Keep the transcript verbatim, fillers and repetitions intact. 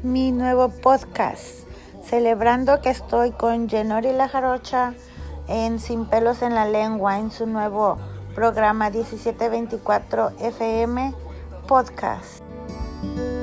mi nuevo podcast, celebrando que estoy con Yenori La Jarocha en Sin Pelos en la Lengua, en su nuevo programa diecisiete veinticuatro F M Podcast.